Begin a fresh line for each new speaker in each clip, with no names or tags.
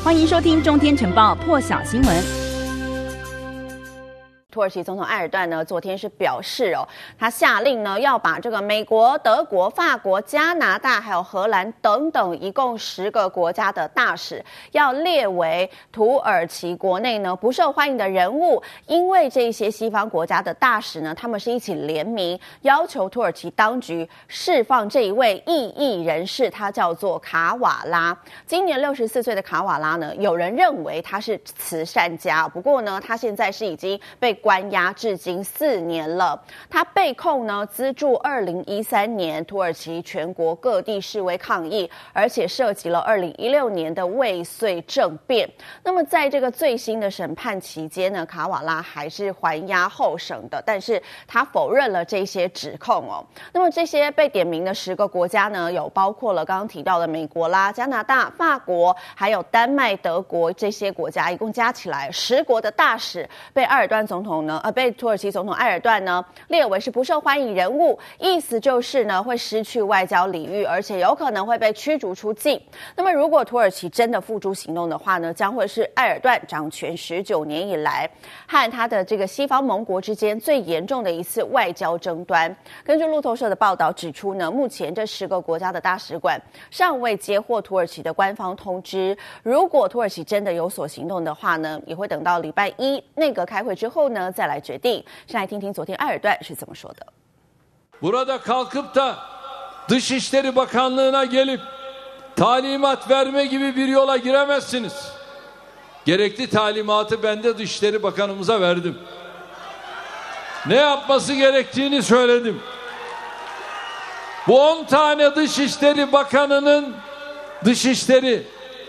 歡迎收聽《中天晨報》破曉新聞。
土耳其總統埃爾段呢，昨天是表示他下令呢要把這個美國、德國、法國、加拿大還有荷蘭等等一共10個國家的大使要列為土耳其國內呢不受歡迎的人物，因為這些西方國家的大使呢，他們是一起聯名要求土耳其當局釋放這一位異議人士，他叫做卡瓦拉。今年64歲的卡瓦拉呢，有人認為他是慈善家，不過呢，他現在是已經被關押至今4年了。他被控呢資助2013年土耳其全國各地示威抗議，而且涉及了2016年的未遂政變。那麼在這個最新的審判期間呢，卡瓦拉還是還押候審的，但是他否認了這些指控哦。那麼這些被點名的10個國家呢，有包括了剛剛提到的美國啦、加拿大、法國，還有丹麥、德國這些國家，一共加起來10國的大使被埃爾段總統被土耳其總統埃爾段呢列為是不受歡迎人物，意思就是呢會失去外交禮遇，而且有可能會被驅逐出境。那麼如果土耳其真的付諸行動的話呢，將會是埃爾段掌權19年以來和他的這個西方盟國之間最嚴重的一次外交爭端。根據路透社的報道指出呢，目前這10個國家的大使館尚未接獲土耳其的官方通知，如果土耳其真的有所行動的話呢，也會等到禮拜1內閣開會之後呢再來決定。先來聽聽昨天埃爾段是怎麼說的。
Burada kalkıp da Dışişleri Bakanlığı'na gelip talimat verme gibi bir yola giremezsiniz. Gerekli talimatı ben de Dışişleri Bakanımıza verdim. Ne yapması gerektiğini söyledim. Bu 10 tane Dışişleri Bakanı'nın Dışişleri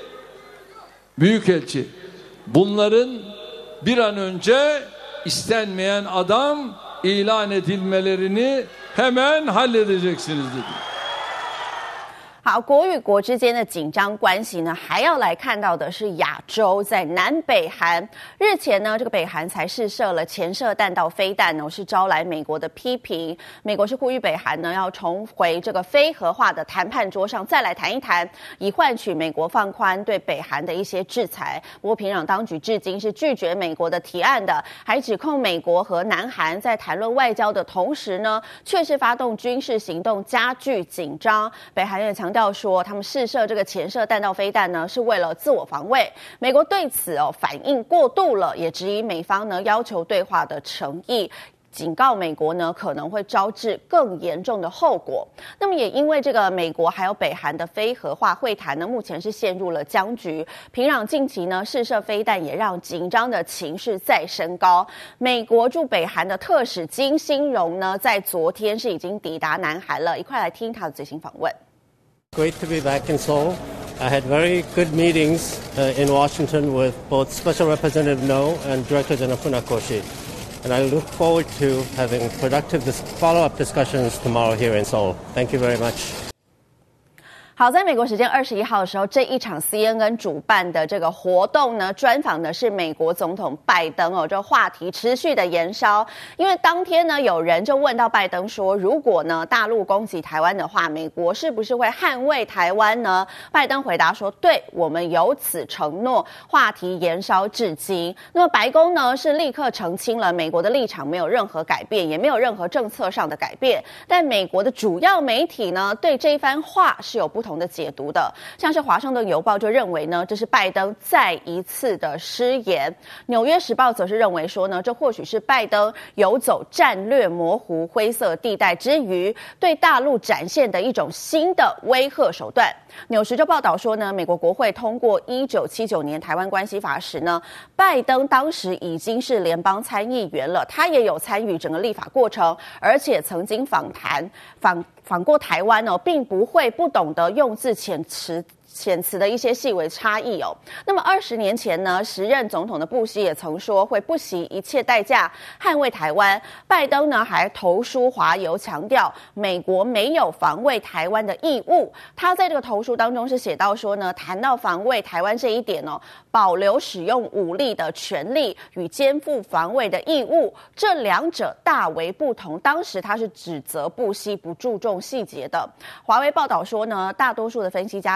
Büyükelçi bunların bir an önce İstenmeyen adam ilan edilmelerini hemen halledeceksiniz dedi.
好，國與國之間的緊張關係呢，還要來看到的是亞洲，在南北韓。日前呢，這個北韓才試射了潛射彈道飛彈呢，是招來美國的批評。美國是呼籲北韓呢要重回這個非核化的談判桌上，再來談一談，以換取美國放寬對北韓的一些制裁。不過，平壤當局至今是拒絕美國的提案的，還指控美國和南韓在談論外交的同時呢，卻是發動軍事行動，加劇緊張。北韓也強調說，他們試射這個潛射彈道飛彈呢，是為了自我防衛。美國對此反應過度了，也質疑美方呢要求對話的誠意，警告美國呢可能會招致更嚴重的後果。那麼也因為這個美國還有北韓的非核化會談呢，目前是陷入了僵局。平壤近期呢試射飛彈，也讓緊張的情勢再升高。美國駐北韓的特使金星榮呢，在昨天是已經抵達南韓了。一塊來聽他的最新訪問。
Great to be back in Seoul. I had very good meetings in Washington with both Special Representative No and Director General Funakoshi. And I look forward to having productive follow-up discussions tomorrow here in Seoul. Thank you very much.
好，在美國時間21號的時候，這一場 CNN 主辦的這個活動呢，專訪的是美國總統拜登哦，這話題持續的延燒。因為當天呢，有人就問到拜登說，如果呢大陸攻擊台灣的話，美國是不是會捍衛台灣呢？拜登回答說，對，我們有此承諾。話題延燒至今，那麼白宮呢是立刻澄清了，美國的立場沒有任何改變，也沒有任何政策上的改變。但美國的主要媒體呢，對這一番話是有不同的解讀的，像是華盛頓郵報就認為呢，這是拜登再一次的失言。紐約時報則是認為說呢，這或許是拜登游走戰略模糊灰色地帶之餘，對大陸展現的一種新的威嚇手段。紐時就報道說呢，美國國會通過1979年台灣關係法時呢，拜登當時已經是聯邦參議員了，他也有參與整個立法過程，而且曾經訪過台灣哦，並不會不懂得用字遣詞的一些細微差異哦。那麼20年前呢，時任總統的布希也曾說會不惜一切代價捍衛台灣。拜登呢還投書華郵，強調美國沒有防衛台灣的義務。他在這個投書當中是寫到說呢，談到防衛台灣這一點哦，保留使用武力的權利與肩負防衛的義務，這兩者大為不同。當時他是指責布希不注重細節的。華為報道說呢，大多數的分析家相信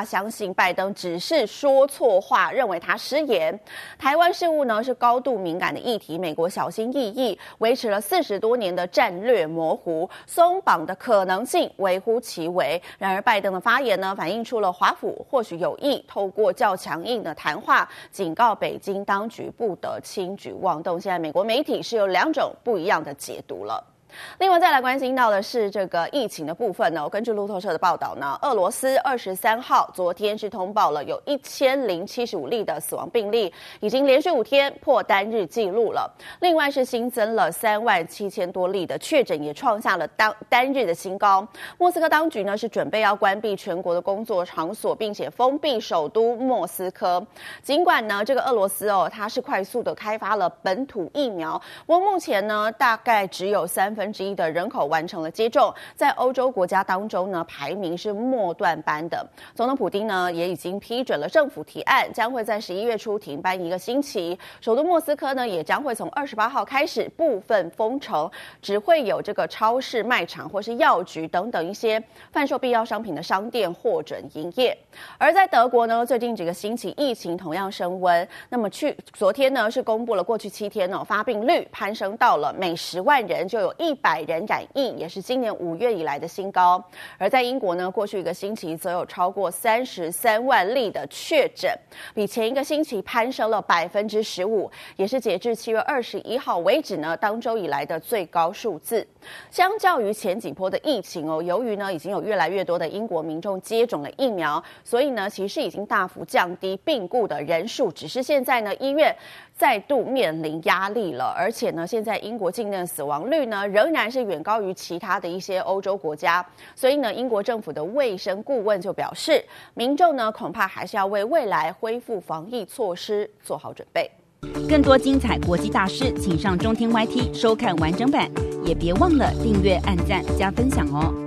信拜登只是說錯話，認為他失言。台灣事務呢是高度敏感的議題，美國小心翼翼，維持了40多年的戰略模糊，鬆綁的可能性微乎其微。然而，拜登的發言呢，反映出了華府或許有意透過較強硬的談話，警告北京當局不得輕舉妄動。現在美國媒體是有2種不一樣的解讀了。另外再來關心到的是這個疫情的部分呢，根據路透社的報道呢，俄羅斯23號昨天是通報了有1075例的死亡病例，已經連續5天破單日紀錄了。另外是新增了37000多例的確診，也創下了單日的新高。莫斯科當局呢是準備要關閉全國的工作場所，並且封閉首都莫斯科。儘管呢這個俄羅斯它是快速的開發了本土疫苗，不過目前呢大概只有1/3的人口完成了接種，在歐洲國家當中呢，排名是末段班的。總統普丁呢也已經批准了政府提案，將會在11月初停班1個星期。首都莫斯科呢也將會從28號開始部分封城，只會有這個超市、賣場或是藥局等等一些販售必要商品的商店獲准營業。而在德國呢，最近幾個星期疫情同樣升溫，那麼昨天呢是公布了過去7天發病率攀升到了每10萬人就有100人染疫，也是今年5月以來的新高。而在英國呢，過去1個星期則有超過33萬例的確診，比前1個星期攀升了15%，也是截至7月21號為止呢當周以來的最高數字。相較於前幾波的疫情由於呢已經有越來越多的英國民眾接種了疫苗，所以呢其實已經大幅降低病故的人數，只是現在呢醫院再度面臨壓力了，而且呢現在英國境內的死亡率呢仍然是遠高於其他的一些歐洲國家，所以呢英國政府的衛生顧問就表示，民眾呢恐怕還是要为未來恢復防疫措施做好準備。
更多精彩國際大事，請上中天 YT 收看完整版，也別忘了訂閱、按讚、加分享哦。